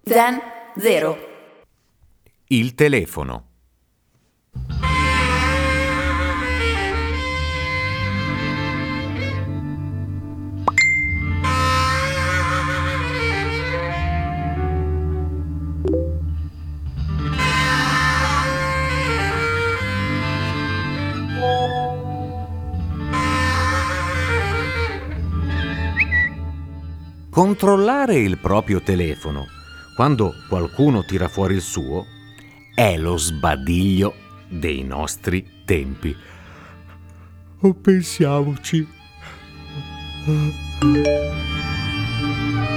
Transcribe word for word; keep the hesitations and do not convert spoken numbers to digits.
Zen Zero. Il telefono. Controllare il proprio telefono quando qualcuno tira fuori il suo è lo sbadiglio dei nostri tempi. O pensiamoci.